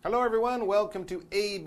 Hello everyone, welcome to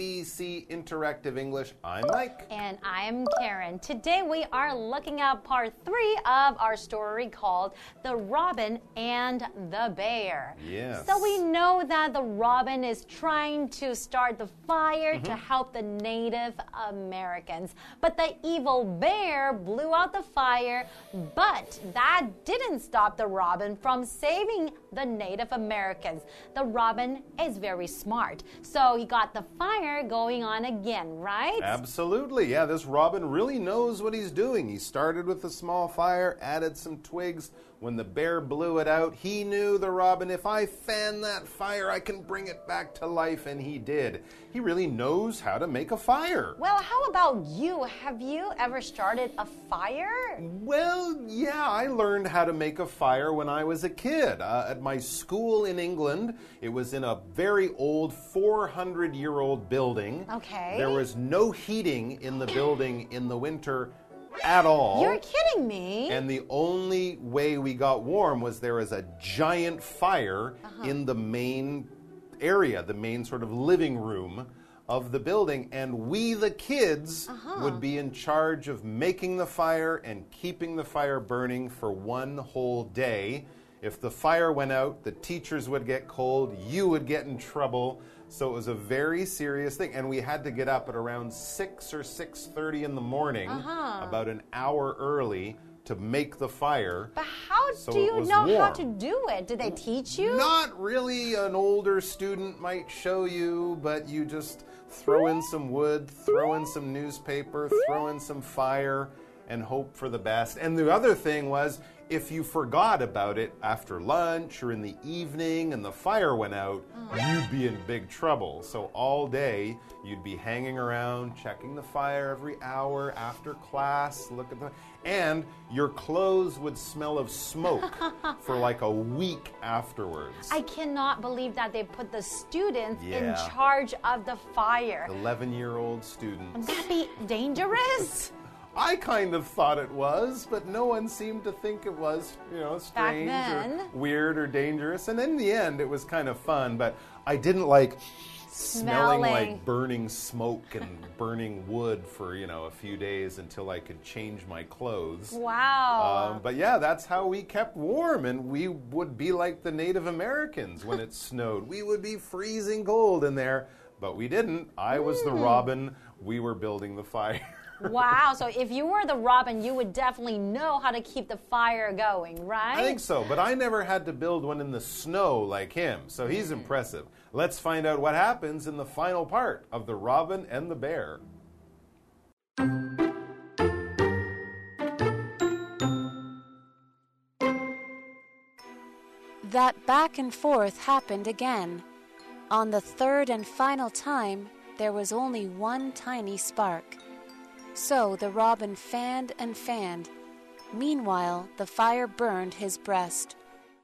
ABC Interactive English. I'm Mike. And I'm Karen. Today we are looking at part 3 of our story called The Robin and the Bear. Yes. So we know that the robin is trying to start the fire to help the Native Americans. But the evil bear blew out the fire, but that didn't stop the robin from saving the Native Americans. The robin is very smart. So he got the fire going on again, right? Absolutely. Yeah, this robin really knows what he's doing. He started with a small fire, added some twigs. When the bear blew it out, he knew, the robin, if I fan that fire, I can bring it back to life, and he did. He really knows how to make a fire. Well, how about you? Have you ever started a fire? Well, yeah, I learned how to make a fire when I was a kid. At my school in England, it was in a very old 400-year-old building. Okay. There was no heating in the building in the winter at all. You're kidding me. And the only way we got warm was there was a giant fire in the main area, the main sort of living room of the building, and we, the kids, would be in charge of making the fire and keeping the fire burning for one whole day. If the fire went out, the teachers would get cold, you would get in trouble. So it was a very serious thing, and we had to get up at around 6 or 6:30 in the morning, about an hour early, to make the fire. But how do you know how to do it? Did they teach you? Not really. An older student might show you, but you just throw in some wood, throw in some newspaper, throw in some fire, and hope for the best. And the other thing was, if you forgot about it after lunch or in the evening and the fire went out, you'd be in big trouble. So all day, you'd be hanging around, checking the fire every hour after class, and your clothes would smell of smoke for like a week afterwards. I cannot believe that they put the students in charge of the fire. 11-year-old students. Would that be dangerous? I kind of thought it was, but no one seemed to think it was, strange or weird or dangerous. And in the end, it was kind of fun, but I didn't like smelling like burning smoke and burning wood for, a few days until I could change my clothes. Wow. But yeah, that's how we kept warm, and we would be like the Native Americans when it snowed. We would be freezing cold in there, but we didn't. I was the robin. We were building the fire. Wow, so if you were the robin, you would definitely know how to keep the fire going, right? I think so, but I never had to build one in the snow like him, so he's impressive. Let's find out what happens in the final part of The Robin and the Bear. That back and forth happened again. On the third and final time, there was only one tiny spark. So the robin fanned and fanned. Meanwhile, the fire burned his breast.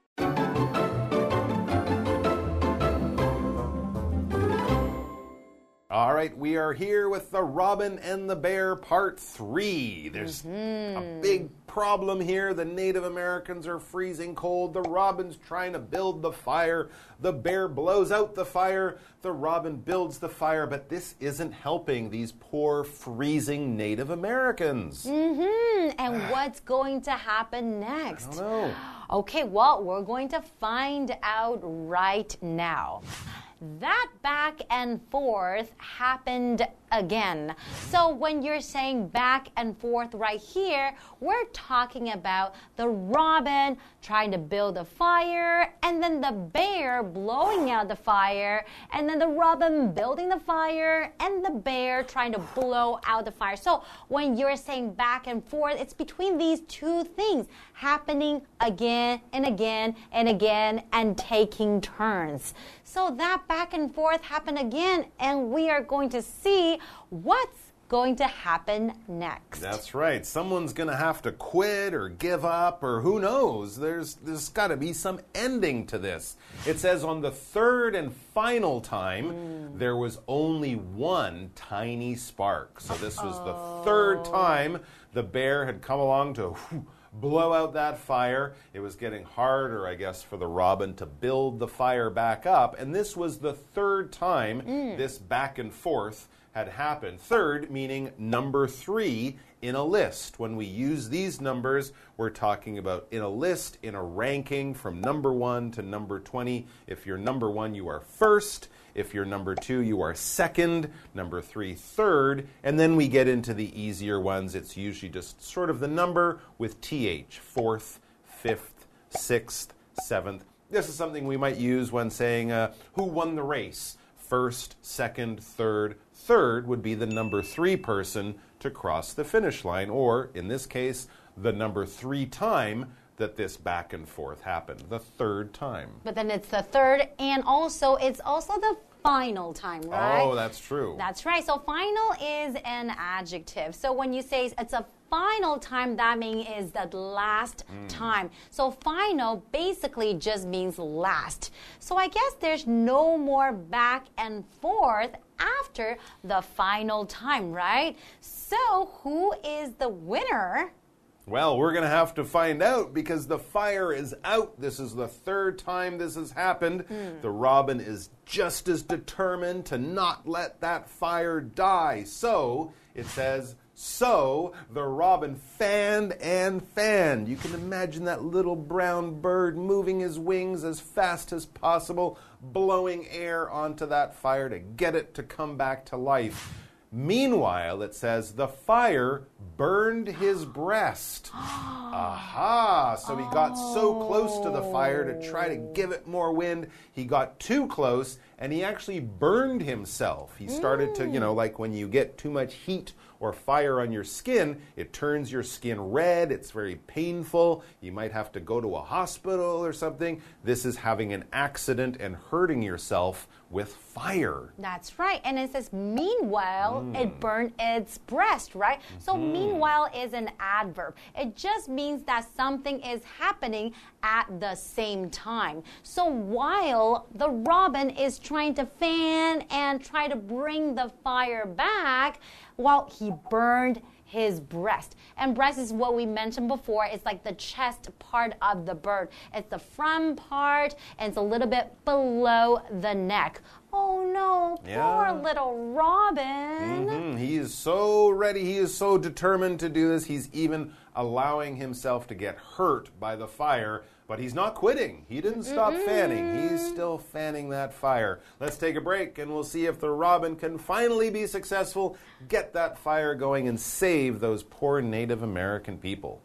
All right, we are here with The Robin and the Bear Part 3. There's a big problem here. The Native Americans are freezing cold. The robin's trying to build the fire. The bear blows out the fire. The robin builds the fire. But this isn't helping these poor freezing Native Americans. And what's going to happen next? I don't know. Okay, well, we're going to find out right now. That back and forth happened again. So when you're saying back and forth right here, we're talking about the robin trying to build a fire, and then the bear blowing out the fire, and then the robin building the fire, and the bear trying to blow out the fire. So when you're saying back and forth, it's between these two things happening again and again and again and taking turns. So that back and forth happened again, and we are going to see what's going to happen next. That's right. Someone's going to have to quit or give up, or who knows. There's got to be some ending to this. It says on the third and final time, there was only one tiny spark. So this was the third time the bear had come along to blow out that fire. It was getting harder, I guess, for the robin to build the fire back up. And this was the third time this back and forth had happened. Third, meaning number 3 in a list. When we use these numbers, we're talking about in a list, in a ranking from number 1 to number 20. If you're number 1, you are first. If you're number 2, you are second. Number 3, third. And then we get into the easier ones. It's usually just sort of the number with th. Fourth, fifth, sixth, seventh. This is something we might use when saying who won the race. First, second, third. Third would be the number 3 person to cross the finish line, or in this case, the number 3 time that this back and forth happened, the third time. But then it's the third, and it's also the final time, right? Oh, that's true. That's right. So final is an adjective. So when you say it's a final time, that means is the last time. So final basically just means last. So I guess there's no more back and forth after the final time, right? So who is the winner? Well, we're going to have to find out because the fire is out. This is the third time this has happened. The robin is just as determined to not let that fire die. So, it says, so the robin fanned and fanned. You can imagine that little brown bird moving his wings as fast as possible, blowing air onto that fire to get it to come back to life. Meanwhile, it says, the fire burned his breast. Aha! So he got so close to the fire to try to give it more wind. He got too close, and he actually burned himself. He started to, like when you get too much heat or fire on your skin, it turns your skin red. It's very painful. You might have to go to a hospital or something. This is having an accident and hurting yourself with fire. That's right. And it says, meanwhile, it burned its breast, right? So meanwhile is an adverb. It just means that something is happening at the same time. So while the robin is trying to fan and try to bring the fire back, while he burned his breast. And breast is what we mentioned before. It's like the chest part of the bird. It's the front part, and it's a little bit below the neck. Oh no, poor little robin. He is so ready. He is so determined to do this. He's even allowing himself to get hurt by the fire. But he's not quitting. He didn't stop fanning. He's still fanning that fire. Let's take a break, and we'll see if the robin can finally be successful, get that fire going, and save those poor Native American people.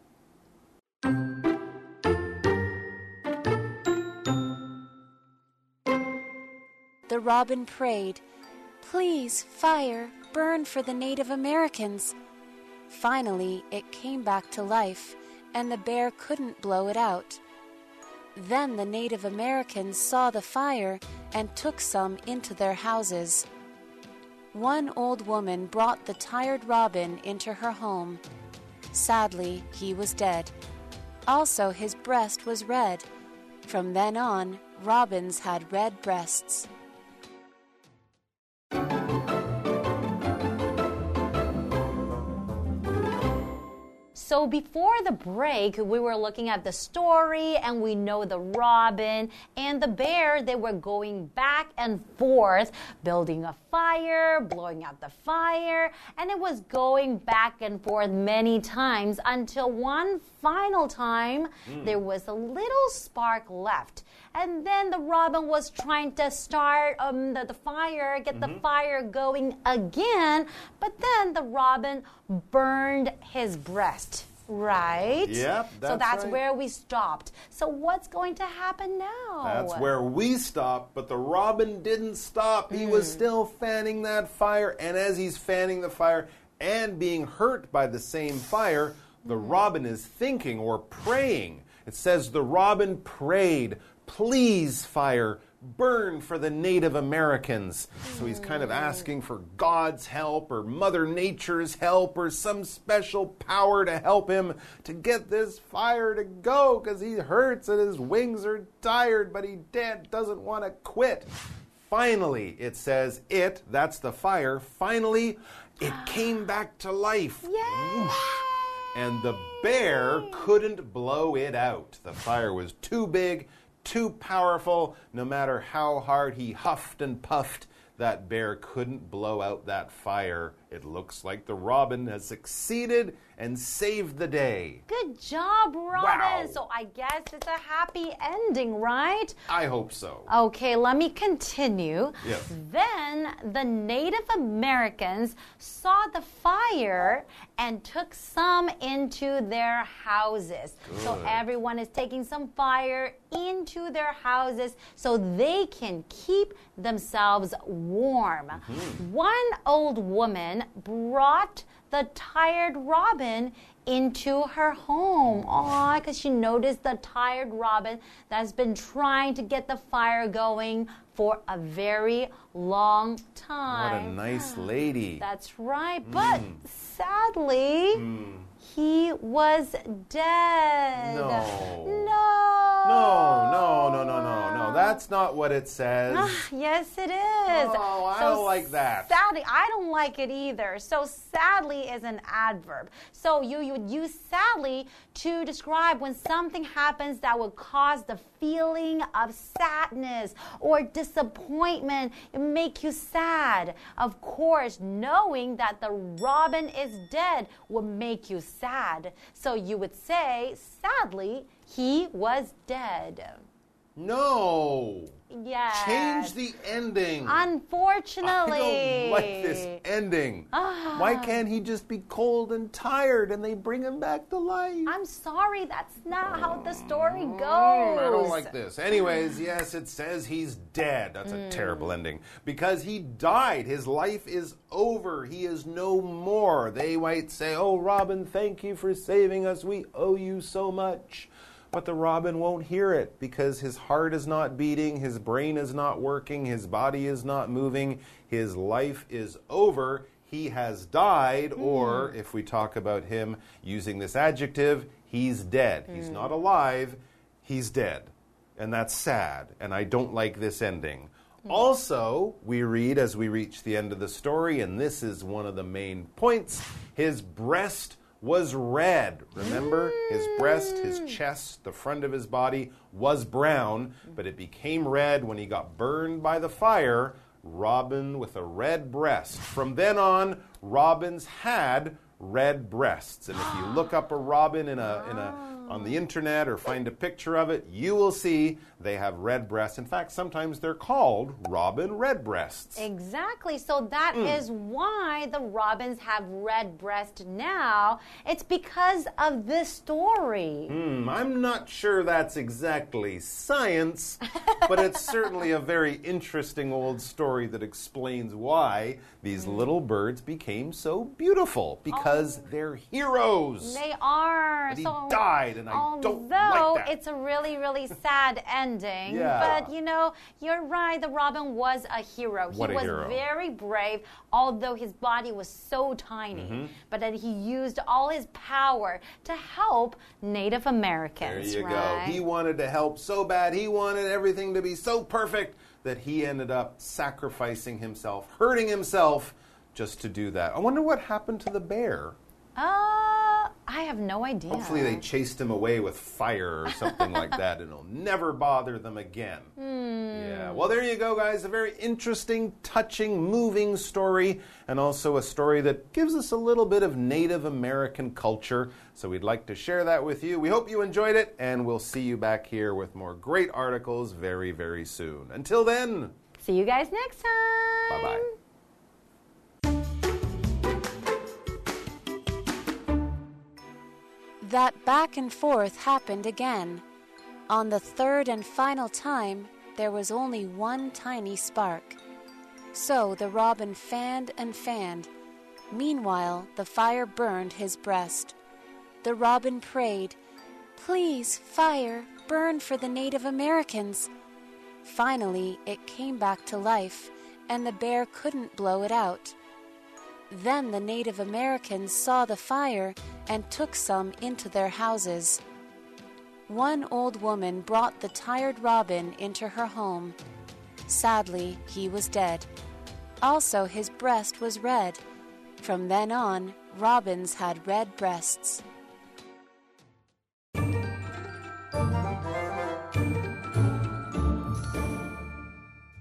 The robin prayed, "Please, fire, burn for the Native Americans." Finally, it came back to life, and the bear couldn't blow it out. Then the Native Americans saw the fire and took some into their houses. One old woman brought the tired robin into her home. Sadly, he was dead. Also, his breast was red. From then on, robins had red breasts. So before the break, we were looking at the story, and we know the robin and the bear, they were going back and forth, building a fire, blowing out the fire, and it was going back and forth many times until one final time, there was a little spark left. And then the robin was trying to start the fire, get the fire going again, but then the robin burned his breast. Right? Yep, so that's right. where we stopped. So what's going to happen now? That's where we stopped, but the robin didn't stop. He was still fanning that fire, and as he's fanning the fire and being hurt by the same fire, the robin is thinking or praying. It says the robin prayed, "Please, fire, burn for the Native Americans." So he's kind of asking for God's help or Mother Nature's help or some special power to help him to get this fire to go because he hurts and his wings are tired, but he doesn't want to quit. Finally, it says that's the fire, finally, it came back to life. Yay! and the bear couldn't blow it out. The fire was too big, too powerful. No matter how hard he huffed and puffed, that bear couldn't blow out that fire. It looks like the robin has succeeded and saved the day. Good job, Robin. Wow. So I guess it's a happy ending, right? I hope so. Okay, let me continue. Yes. Then the Native Americans saw the fire and took some into their houses. So Good. everyone is taking some fire into their houses so they can keep themselves warm. One old woman brought the tired robin into her home. Aw, because she noticed the tired robin that's been trying to get the fire going for a very long What time. a nice lady. That's right. But sadly, he was dead. No. No. No. That's not what it says. Yes, it is. Oh, I don't like that. Sadly, I don't like it either. So sadly is an adverb. So you would use sadly to describe when something happens that would cause the feeling of sadness or disappointment. It make you sad. Of course, knowing that the robin is dead would make you sad. So you would say, sadly, he was dead. No. Yes. Change the ending. Unfortunately. I don't like this ending. Why can't he just be cold and tired and they bring him back to life? I'm sorry, that's not how the story goes. I don't like this. Anyways, yes, it says he's dead. That's a terrible ending. Because he died. His life is over. He is no more. They might say, oh, Robin, thank you for saving us. We owe you so much. But the robin won't hear it because his heart is not beating, his brain is not working, his body is not moving, his life is over. He has died, or if we talk about him using this adjective, he's dead. He's not alive, he's dead. And that's sad, and I don't like this ending. Also, we read as we reach the end of the story, and this is one of the main points, his breast was red. Remember, his breast, his chest, the front of his body was brown, but it became red when he got burned by the fire. Robin with a red breast. From then on, robins had red breasts. And if you look up a robin on the internet or find a picture of it, you will see they have red breasts. In fact, sometimes they're called robin redbreasts. Exactly. So that is why the robins have red breast now. It's because of this story. I'm not sure that's exactly science, but it's certainly a very interesting old story that explains why these little birds became so beautiful, because they're heroes. They are. But he died, and I don't like that. Although it's a really, really sad ending. Yeah. But, you know, you're right. The robin was a hero. What he a was hero. very brave, although his body was so tiny. But then he used all his power to help Native Americans. There you right? go. He wanted to help so bad. He wanted everything to be so perfect that he ended up sacrificing himself, hurting himself just to do that. I wonder what happened to the bear. I have no idea. Hopefully they chased him away with fire or something like that, and it'll never bother them again. Yeah. Well, there you go, guys. A very interesting, touching, moving story, and also a story that gives us a little bit of Native American culture. So we'd like to share that with you. We hope you enjoyed it, and we'll see you back here with more great articles very, very soon. Until then, see you guys next time. bye-bye. That back and forth happened again. On the third and final time, there was only one tiny spark. So the robin fanned and fanned. Meanwhile, the fire burned his breast. The robin prayed, "Please, fire, burn for the Native Americans." Finally, it came back to life, and the bear couldn't blow it out. Then the Native Americans saw the fire and took some into their houses. One old woman brought the tired robin into her home. Sadly, he was dead. Also, his breast was red. From then on, robins had red breasts.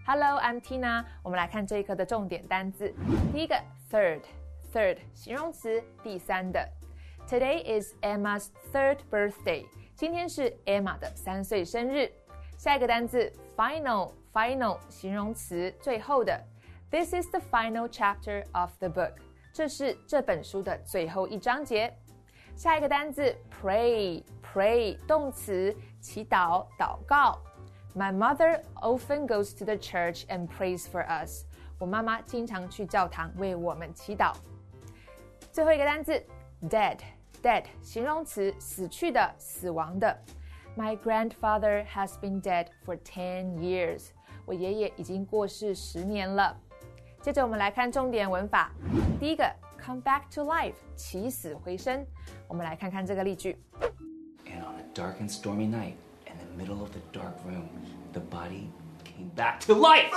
Hello, I'm Tina. 我们来看这一課的重點單字。第一個 third 形容詞，第三的。Today is Emma's third birthday. 今天是 Emma 的3歲生日。下一個單字 final 形容詞，最後的。This is the final chapter of the book. 這是這本書的最後一章節。下一個單字 pray 動詞，祈禱禱告。My mother often goes to the church and prays for us. 我媽媽經常去教堂為我們祈禱。最後一個單字 dead 形容詞，死去的死亡的。My grandfather has been dead for 10 years. 我爺爺已經過世10年了。接着我們來看重點文法。第一個 come back to life 起死回生。我們來看看這個例句。 And on a dark and stormy night, in the middle of the dark room, the body came back to life.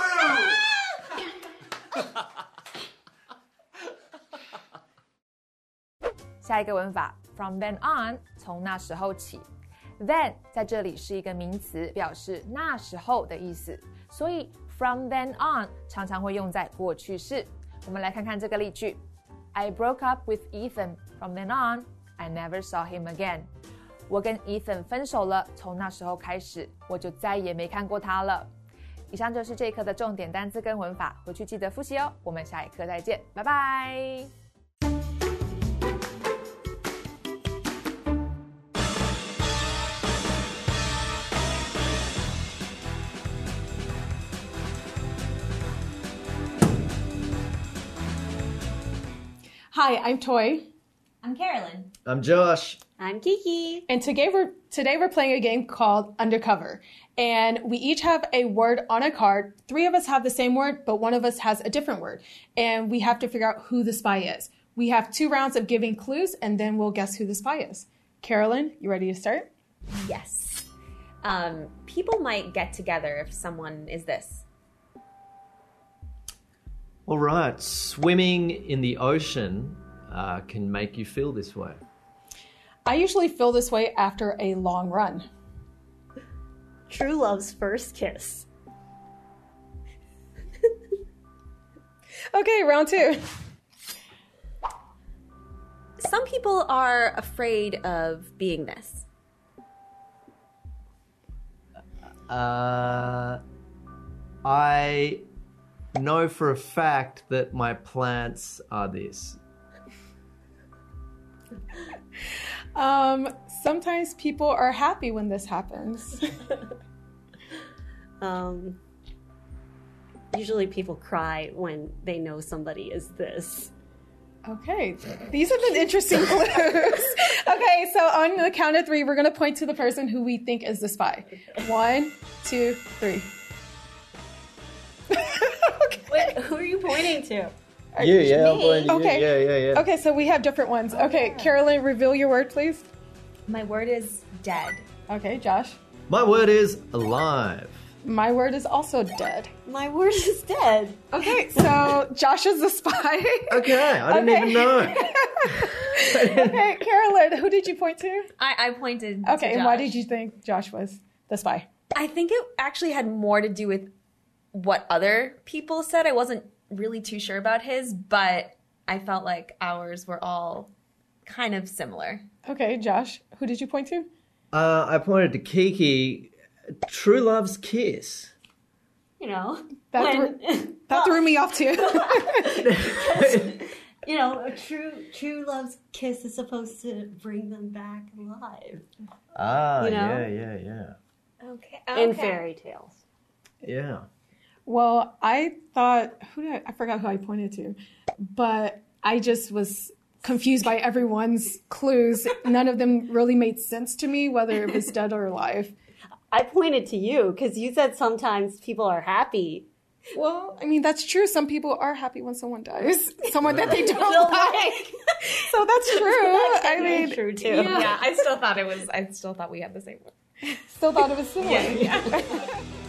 下一個文法 from then on 從那時候起。Then 在這裡是一個名詞，表示那時候的意思，所以 from then on 常常會用在過去式。我們來看看這個例句。I broke up with Ethan. From then on, I never saw him again. 我跟 Ethan 分手了，從那時候開始，我就再也沒看過他了。以上就是這一課的重點單字跟文法，回去記得複習哦。我們下一課再見，拜拜。 Hi, I'm Toy. I'm Carolyn. I'm Josh. I'm Kiki. And today we're playing a game called Undercover. And we each have a word on a card. 3 of us have the same word, but one of us has a different word. And we have to figure out who the spy is. We have 2 rounds of giving clues, and then we'll guess who the spy is. Carolyn, you ready to start? Yes. People might get together if someone is this. All right, swimming in the ocean can make you feel this way. I usually feel this way after a long run. True love's first kiss. Okay, round 2. Some people are afraid of being this. I know for a fact that my plants are this. Sometimes people are happy when this happens. Usually people cry when they know somebody is this. Okay, these have been interesting clues. Okay, so on the count of 3, we're going to point to the person who we think is the spy. 1, 2, 3. Okay. Wait, who are you pointing to? You, yeah, I'm pointing to Okay. you. Yeah. Okay, so we have different ones. Okay, Carolyn, reveal your word, please. My word is dead. Okay, Josh. My word is alive. My word is also dead. My word is dead. Okay, so Josh is the spy. Okay, I didn't even know. Okay, Carolyn, who did you point to? I pointed Okay, to and why Josh. did you think Josh was the spy? I think it actually had more to do with what other people said. I wasn't really too sure about his, but I felt like ours were all kind of similar. Okay, Josh, who did you point to? I pointed to Kiki. True love's kiss. You know, That threw me off too. You know, a true love's kiss is supposed to bring them back alive. Ah, You know? yeah. Okay. In fairy tales. Yeah. Well, I thought, I forgot who I pointed to, but I just was confused by everyone's clues. None of them really made sense to me, whether it was dead or alive. I pointed to you because you said sometimes people are happy. Well, I mean, that's true. Some people are happy when someone dies. Someone that they don't like. So that's true. I mean, True too. Yeah, I still thought we had the same one. Still thought it was similar. Yeah.